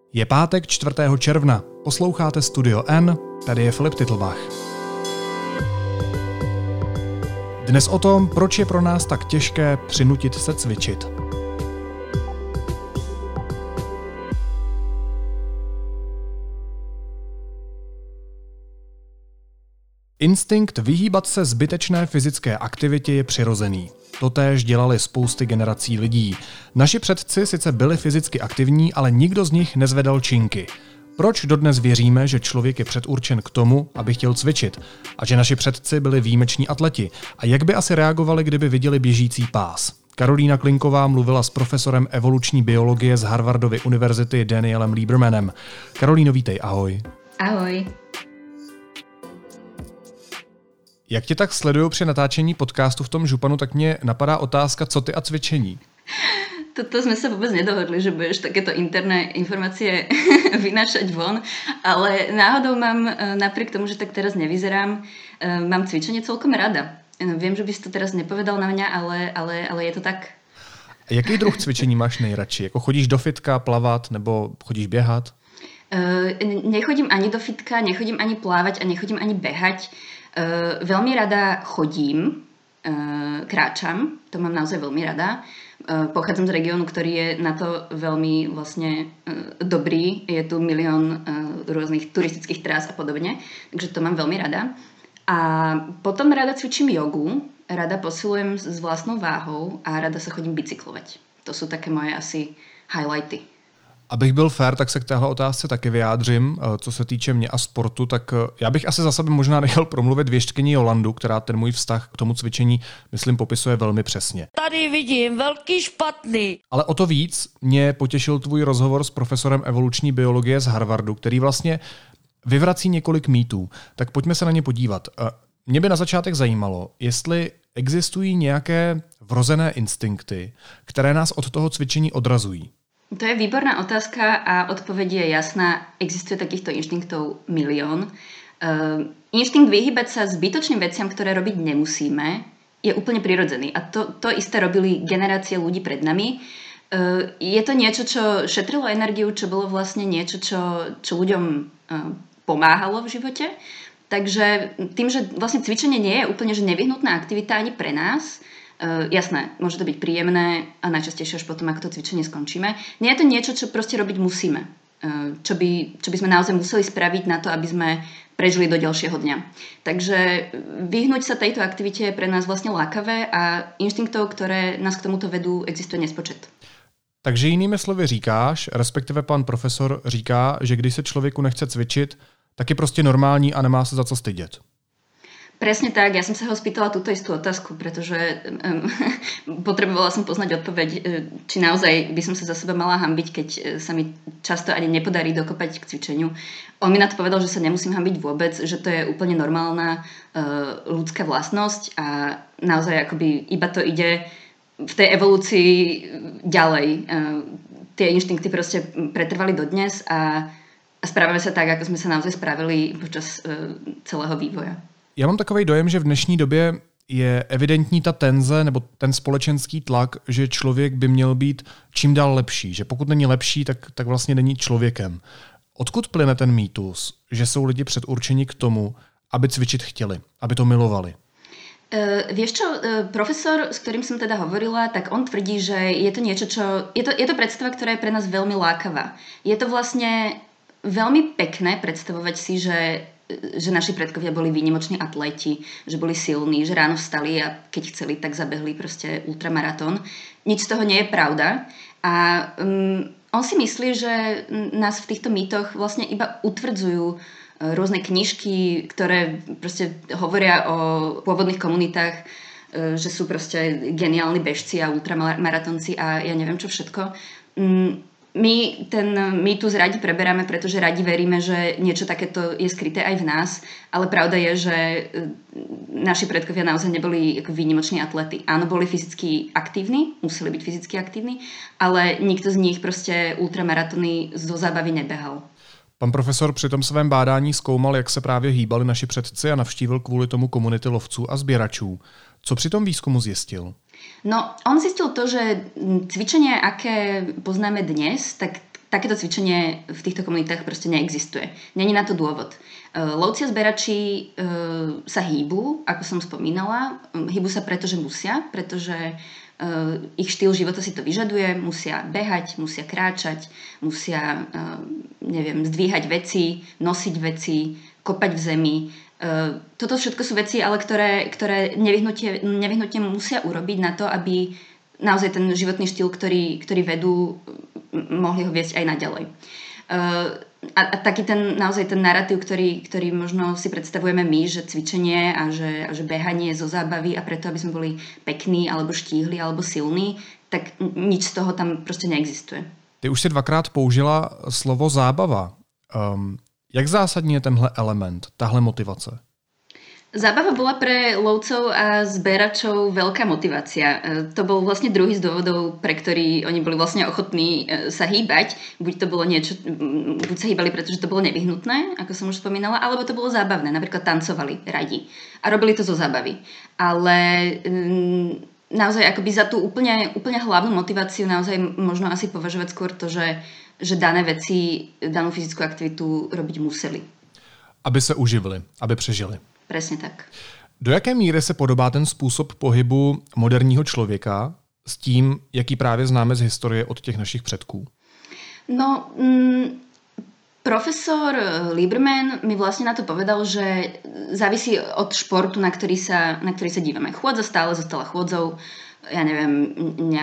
Je pátek 4. června. Posloucháte Studio N, tady je Filip Titlbach. Dnes o tom, proč je pro nás tak těžké přinutit se cvičit. Instinkt vyhýbat se zbytečné fyzické aktivitě je přirozený. Totéž dělali spousty generací lidí. Naši předci sice byli fyzicky aktivní, ale nikdo z nich nezvedal činky. Proč dodnes věříme, že člověk je předurčen k tomu, aby chtěl cvičit? A že naši předci byli výjimeční atleti? A jak by asi reagovali, kdyby viděli běžící pás? Karolína Klinková mluvila s profesorem evoluční biologie z Harvardovy univerzity Danielem Liebermanem. Karolíno, vítej, ahoj. Ahoj. Jak tě tak sleduju při natáčení podcastu v tom županu, tak mě napadá otázka, co ty a cvičení? Toto sme sa vôbec nedohodli, že budeš takéto interné informácie vynášať von, ale náhodou mám, napriek tomu, že tak teraz nevyzerám, mám cvičenie celkom rada. Viem, že by si to teraz nepovedal na mňa, ale je to tak. Jaký druh cvičení máš nejradši? Jako chodíš do fitka plavat nebo chodíš běhat? Nechodím ani do fitka, nechodím ani plávať a nechodím ani behať. Veľmi rada chodím, kráčam, to mám naozaj veľmi rada. Pochádzam z regiónu, ktorý je na to veľmi vlastne dobrý. Je tu milión rôznych turistických trás a podobne, takže to mám veľmi rada. A potom rada cvičím jogu, rada posilujem s vlastnou váhou a rada sa chodím bicyklovať. To sú také moje asi highlighty. Abych byl fér, tak se k téhle otázce taky vyjádřím. Co se týče mě a sportu, tak já bych asi za sebe možná nechal promluvit věštkyni Jolandu, která ten můj vztah k tomu cvičení, myslím, popisuje velmi přesně. Tady vidím velký špatný. Ale o to víc mě potěšil tvůj rozhovor s profesorem evoluční biologie z Harvardu, který vlastně vyvrací několik mýtů. Tak pojďme se na ně podívat. Mě by na začátek zajímalo, jestli existují nějaké vrozené instinkty, které nás od toho cvičení odrazují. To je výborná otázka a odpoveď je jasná. Existuje takýchto inštinktov milión. Inštinkt vyhýbať sa zbytočným veciam, ktoré robiť nemusíme, je úplne prirodzený. A to isté robili generácie ľudí pred nami. Je to niečo, čo šetrilo energiu, čo bolo vlastne niečo, čo ľuďom pomáhalo v živote. Takže tým, že vlastne cvičenie nie je úplne že nevyhnutná aktivita ani pre nás, jasné, môže to byť príjemné a najčastejšie až potom, ako to cvičenie skončíme. Nie je to niečo, čo proste robiť musíme. Čo by sme naozaj museli spraviť na to, aby sme prežili do ďalšieho dňa. Takže vyhnúť sa tejto aktivite je pre nás vlastne lákavé a inštinktov, ktoré nás k tomuto vedú, existuje nespočet. Takže jinými slovy říkáš, respektive pan profesor říká, že když se člověku nechce cvičit, tak je prostě normální a nemá se za co stydět. Presne tak, ja som sa ho spýtala túto istú otázku, pretože potrebovala som poznať odpoveď, či naozaj by som sa za seba mala hanbiť, keď sa mi často ani nepodarí dokopať k cvičeniu. On mi na to povedal, že sa nemusím hanbiť vôbec, že to je úplne normálna ľudská vlastnosť a naozaj akoby iba to ide v tej evolúcii ďalej. Tie inštinkty proste pretrvali dodnes a správame sa tak, ako sme sa naozaj spravili počas celého vývoja. Já mám takový dojem, že v dnešní době je evidentní ta tenze nebo ten společenský tlak, že člověk by měl být čím dál lepší. Že pokud není lepší, tak vlastně není člověkem. Odkud plyne ten mýtus, že jsou lidi předurčeni k tomu, aby cvičit chtěli, aby to milovali? Vieš čo, profesor, s ktorým som teda hovorila, tak on tvrdí, že je to niečo, je to predstava, ktorá je pre nás veľmi lákavá. Je to vlastne veľmi pekné predstavovať si, že naši predkovia boli výnimoční atleti, že boli silní, že ráno vstali a keď chceli, tak zabehli proste ultramaratón. Nič z toho nie je pravda. A on si myslí, že nás v týchto mýtoch vlastne iba utvrdzujú rôzne knižky, ktoré proste hovoria o pôvodných komunitách, že sú proste geniálni bežci a ultramaratónci a ja neviem čo všetko. My ten mýtus radi preberáme, pretože radi veríme, že niečo takéto je skryté aj v nás, ale pravda je, že naši predkovia naozaj neboli ako výnimoční atlety. Áno, boli fyzicky aktívni, museli byť fyzicky aktívni, ale nikto z nich proste ultramaratóny zo zábavy nebehal. Pan profesor při tom svém bádání zkoumal, jak se právě hýbali naši předci a navštívil kvůli tomu komunity lovců a sběračů. Co při tom výzkumu zjistil? No, on zistil to, že cvičenie, aké poznáme dnes, tak takéto cvičenie v týchto komunitách proste neexistuje. Není na to dôvod. Lovci a zberači sa hýbu, ako som spomínala. Hýbu sa preto, že musia, pretože ich štýl života si to vyžaduje. Musia behať, musia kráčať, musia zdvíhať veci, nosiť veci, kopať v zemi. Toto všetko sú veci, ale ktoré nevyhnutne musia urobiť na to, aby naozaj ten životný štýl, ktorý vedú, mohli ho viesť aj naďalej. A taký naozaj ten narratív, ktorý možno si predstavujeme my, že cvičenie a že behanie je zo zábavy a preto, aby sme boli pekní, alebo štíhli, alebo silní, tak nič z toho tam proste neexistuje. Ty už si dvakrát použila slovo zábava. Jak zásadní je tenhle element, tahle motivace? Zábava bola pre lovcov a zberačov veľká motivácia. To bol vlastne druhý z dôvodov, pre ktorý oni boli vlastne ochotní sa hýbať. Buď sa hýbali, pretože to bolo nevyhnutné, ako som už spomínala, alebo to bolo zábavné. Napríklad tancovali radi a robili to zo zábavy. Ale naozaj akoby za tú úplne hlavnú motiváciu naozaj možno asi považovať skôr to, že dané veci, danú fyzickú aktivitu robiť museli. Aby se uživili, aby přežili. Presne tak. Do jaké míry se podobá ten způsob pohybu moderního člověka s tím, jaký právě známe z historie od těch našich předků? No, profesor Lieberman mi vlastne na to povedal, že závisí od športu, na ktorý sa dívame. Chôdza stále zostala chôdzou, ja neviem,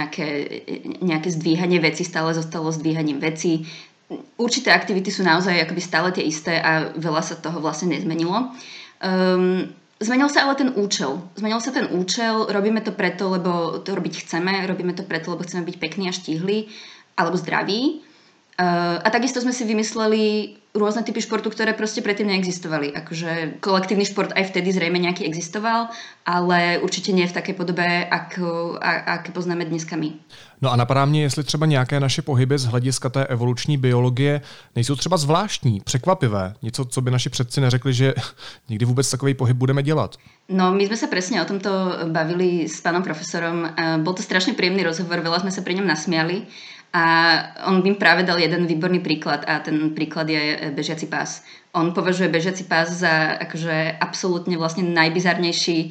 nejaké zdvíhanie vecí stále zostalo zdvíhaním vecí. Určité aktivity sú naozaj akoby stále tie isté a veľa sa toho vlastne nezmenilo. Zmenil sa ale ten účel. Robíme to preto, lebo to robiť chceme, robíme to preto, lebo chceme byť pekní a štíhli alebo zdraví. A takisto sme si vymysleli rôzne typy športu, ktoré proste predtým neexistovali. Akože kolektívny šport aj vtedy zrejme nejaký existoval, ale určite nie v takej podobe, aké poznáme dneska my. No a napadá mě, jestli třeba nějaké naše pohyby z hlediska té evoluční biologie nejsou třeba zvláštní, překvapivé. Něco, co by naši předci neřekli, že nikdy vůbec takový pohyb budeme dělat. No, my sme sa presne o tomto bavili s pánom profesorom. Bol to strašne príjemný rozhovor, veľa sme sa pri ňom nasmiali. A on im práve dal jeden výborný príklad a ten príklad je bežiaci pás. On považuje bežiaci pás za akože absolútne vlastne najbizarnejší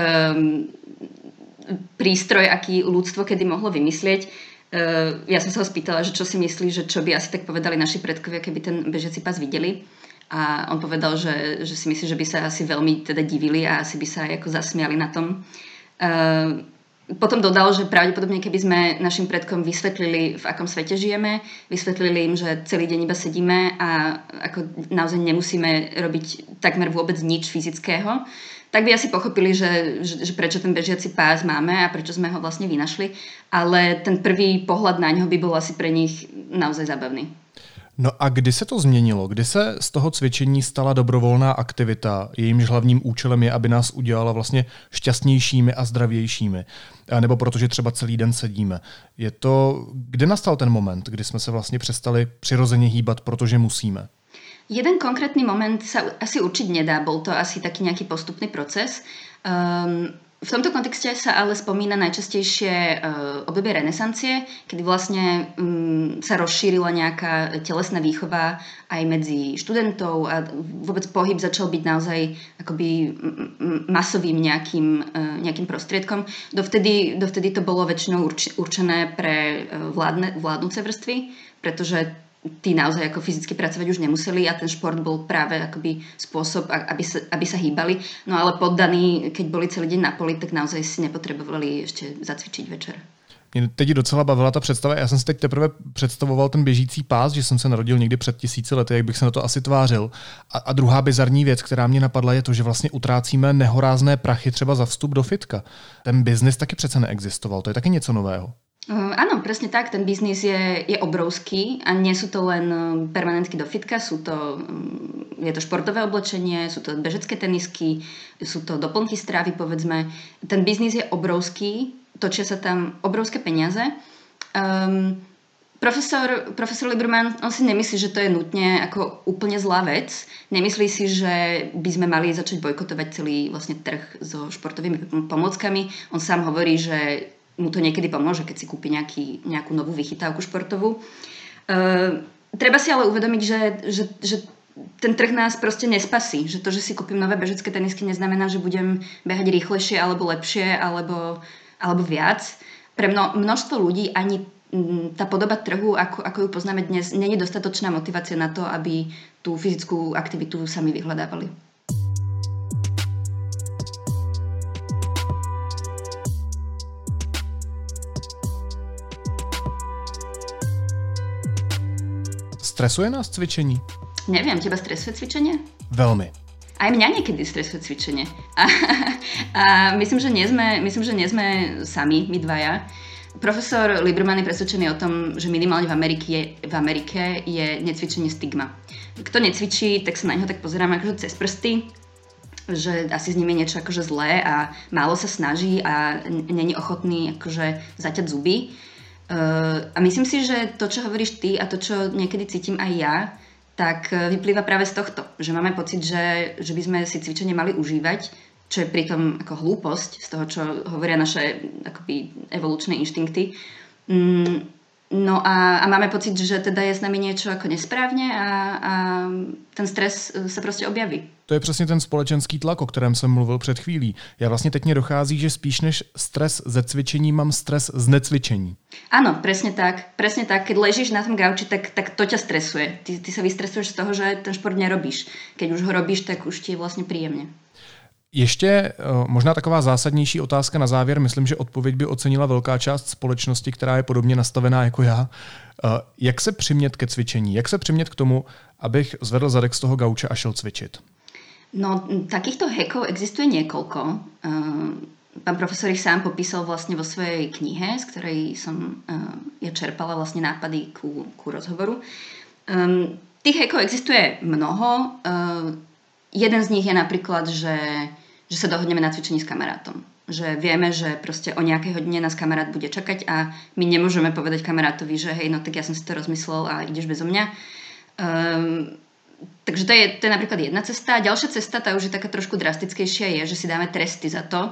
prístroj, aký ľudstvo kedy mohlo vymyslieť. Ja som sa ho spýtala, že čo si myslí, že čo by asi tak povedali naši predkovia, keby ten bežiaci pás videli. A on povedal, že si myslí, že by sa asi veľmi teda divili a asi by sa aj ako zasmiali na tom. Potom dodal, že pravdepodobne, keby sme našim predkom vysvetlili, v akom svete žijeme, vysvetlili im, že celý deň iba sedíme a ako naozaj nemusíme robiť takmer vôbec nič fyzického, tak by asi pochopili, že prečo ten bežiaci pás máme a prečo sme ho vlastne vynašli. Ale ten prvý pohľad na ňo by bol asi pre nich naozaj zábavný. No a kdy se to změnilo? Kdy se z toho cvičení stala dobrovolná aktivita, jejímž hlavním účelem je, aby nás udělala vlastně šťastnějšími a zdravějšími? Nebo protože třeba celý den sedíme. Kde nastal ten moment, kdy jsme se vlastně přestali přirozeně hýbat, protože musíme? Jeden konkrétny moment sa asi určiť nedá, bol to asi taký nejaký postupný proces. V tomto kontexte sa ale spomína najčastejšie obdobie renesancie, kedy vlastne sa rozšírila nejaká telesná výchova aj medzi študentov a vôbec pohyb začal byť naozaj akoby masovým nejakým prostriedkom. Dovtedy to bolo väčšinou určené pre vládnuce vrstvy, pretože tí naozaj ako fyzicky pracovať už nemuseli a ten šport bol práve akoby spôsob, aby sa hýbali. No ale poddaní, keď boli celý deň na poli, tak naozaj si nepotrebovali ešte zacvičiť večer. Mě teď docela bavila ta představa. Já jsem si teď teprve představoval ten běžící pás, že jsem se narodil někdy před 1000 lety, jak bych se na to asi tvářil. A druhá bizarní věc, která mě napadla, je to, že vlastně utrácíme nehorázné prachy třeba za vstup do fitka. Ten biznis taky přece neexistoval, to je taky něco nového. Áno, presne tak, ten biznis je obrovský a nie sú to len permanentky do fitka, je to športové oblečenie, sú to bežecké tenisky, sú to doplnky strávy, povedzme. Ten biznis je obrovský, točia sa tam obrovské peniaze. Profesor Lieberman, on si nemyslí, že to je nutne ako úplne zlá vec. Nemyslí si, že by sme mali začať bojkotovať celý vlastne trh so športovými pomôckami. On sám hovorí, že mu to niekedy pomôže, keď si kúpi nejakú novú vychytávku športovú. Treba si ale uvedomiť, že ten trh nás proste nespasí. Že to, že si kúpim nové bežecké tenisky, neznamená, že budem behať rýchlejšie alebo lepšie alebo viac. Pre množstvo ľudí ani tá podoba trhu, ako ju poznáme dnes, nie je dostatočná motivácia na to, aby tú fyzickú aktivitu sami vyhľadávali. Stresuje nás cvičení? Neviem, teba stresuje cvičenie? Veľmi. Aj mňa niekedy stresuje cvičenie. A myslím, že nie sme sami, my dvaja. Profesor Lieberman je presvedčený o tom, že minimálne v Amerike je necvičenie stigma. Kto necvičí, tak sa na neho tak pozeráme akože cez prsty, že asi s ním je niečo akože zlé a málo sa snaží a není ochotný akože zaťať zuby. A myslím si, že to, čo hovoríš ty a to, čo niekedy cítim aj ja, tak vyplýva práve z tohto, že máme pocit, že by sme si cvičenie mali užívať, čo je pritom ako hlúposť z toho, čo hovoria naše akoby evolučné inštinkty. No a máme pocit, že teda je s nami niečo ako nesprávne a ten stres se prostě objaví. To je přesně ten společenský tlak, o kterém jsem mluvil před chvílí. Já vlastně teď mě dochází, že spíš než stres ze cvičení mám stres z necvičení. Áno, presne tak. Presne tak. Keď ležíš na tom gauči, tak to ťa stresuje. Ty sa vystresuješ z toho, že ten šport nerobíš. Keď už ho robíš, tak už ti je vlastně príjemne. Ještě možná taková zásadnější otázka na závěr. Myslím, že odpověď by ocenila velká část společnosti, která je podobně nastavená jako já. Jak se přimět ke cvičení? Jak se přimět k tomu, abych zvedl zadek z toho gauče a šel cvičit? No, takýchto hackov existuje niekoľko. Pán profesor ich sám popísal vlastne vo svojej knihe, z ktorej som ja čerpala vlastne nápady ku rozhovoru. Tých hackov existuje mnoho. Jeden z nich je napríklad, že sa dohodneme na cvičení s kamarátom. Že vieme, že proste o nejakej hodine nás kamarát bude čakať a my nemôžeme povedať kamarátovi, že hej, no tak ja som si to rozmyslel a ideš bezo mňa. Takže to je napríklad jedna cesta. Ďalšia cesta, tá už je taká trošku drastickejšia, je, že si dáme tresty za to,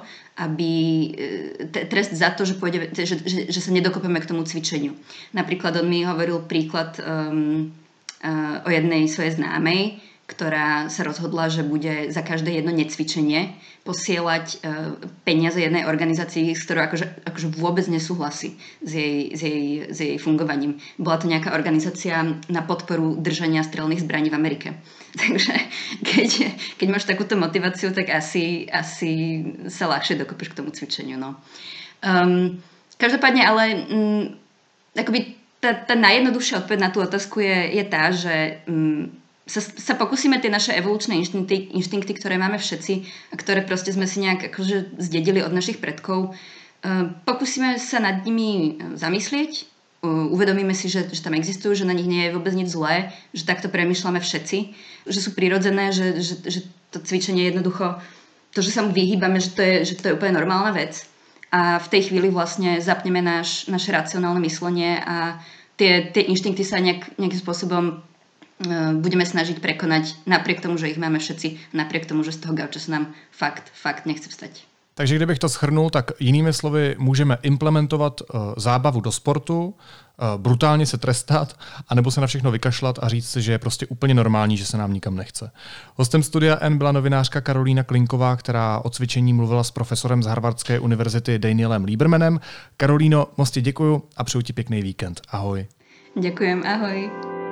trest za to, že sa nedokopeme k tomu cvičeniu. Napríklad on mi hovoril príklad o jednej svojej známej, ktorá sa rozhodla, že bude za každé jedno necvičenie posielať peniaze jednej organizácii, s ktorou akože vôbec nesúhlasí s jej fungovaním. Bola to nejaká organizácia na podporu držania strelných zbraní v Amerike. Takže keď máš takúto motiváciu, tak asi sa ľahšie dokopeš k tomu cvičeniu. No. Každopádne, ale akoby tá najjednoduchšia odpoveď na tú otázku je tá, že sa pokúsime tie naše evolučné inštinkty, ktoré máme všetci a ktoré proste sme si nejak akože zdedili od našich predkov, pokúsime sa nad nimi zamyslieť, uvedomíme si, že tam existujú, že na nich nie je vôbec nič zlé, že takto premýšľame všetci, že sú prirodzené, že to cvičenie jednoducho, to, že sa mu vyhýbame, že to je úplne normálna vec. A v tej chvíli vlastne zapneme naše racionálne myslenie a tie inštinkty sa nejakým spôsobom budeme snažiť prekonať napriek tomu, že ich máme všetci, napriek tomu, že z toho gauča sa nám fakt nechce vstať. Takže kdybych to shrnul, tak jinými slovy můžeme implementovat zábavu do sportu, brutálně se trestat, anebo se na všechno vykašlat a říct si, že je prostě úplně normální, že se nám nikam nechce. Hostem Studia N byla novinářka Karolína Klinková, která o cvičení mluvila s profesorem z Harvardské univerzity Danielem Liebermanem. Karolíno, moc ti děkuju a přeju ti pěkný víkend. Ahoj. Ďakujem, ahoj.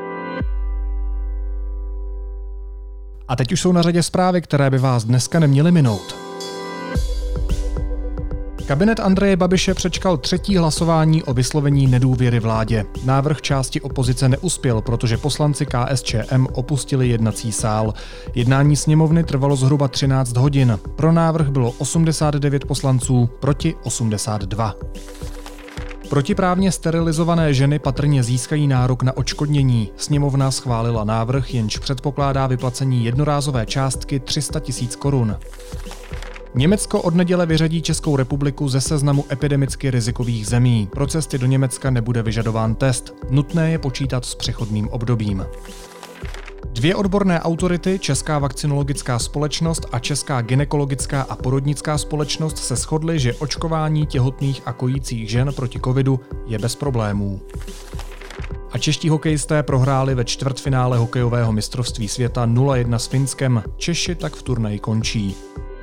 A teď už jsou na řadě zprávy, které by vás dneska neměly minout. Kabinet Andreje Babiše přečkal třetí hlasování o vyslovení nedůvěry vládě. Návrh části opozice neuspěl, protože poslanci KSČM opustili jednací sál. Jednání sněmovny trvalo zhruba 13 hodin. Pro návrh bylo 89 poslanců proti 82. Protiprávně sterilizované ženy patrně získají nárok na odškodnění. Sněmovna schválila návrh, jenž předpokládá vyplacení jednorázové částky 300 000 korun. Německo od neděle vyřadí Českou republiku ze seznamu epidemicky rizikových zemí. Pro cesty do Německa nebude vyžadován test. Nutné je počítat s přechodným obdobím. Dvě odborné autority, Česká vakcinologická společnost a Česká gynekologická a porodnická společnost, se shodly, že očkování těhotných a kojících žen proti covidu je bez problémů. A čeští hokejisté prohráli ve čtvrtfinále hokejového mistrovství světa 0-1 s Finskem. Češi tak v turnaji končí.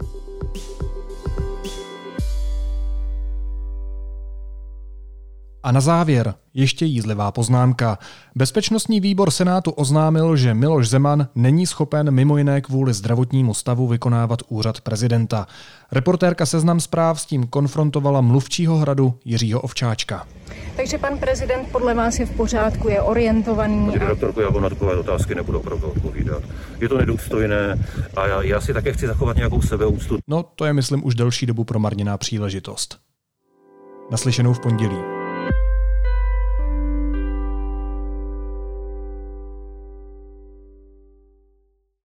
A na závěr ještě jízlivá poznámka. Bezpečnostní výbor Senátu oznámil, že Miloš Zeman není schopen mimo jiné kvůli zdravotnímu stavu vykonávat úřad prezidenta. Reportérka Seznam Zpráv s tím konfrontovala mluvčího Hradu Jiřího Ovčáčka. Takže pan prezident podle vás je v pořádku, je orientovaný? Paní redaktorko, já vám na takové otázky nebudu opravdu odpovídat. Je to nedůstojné a já si také chci zachovat nějakou sebeúctu. No, to je, myslím, už delší dobu promarněná příležitost. Naslyšenou v pondělí.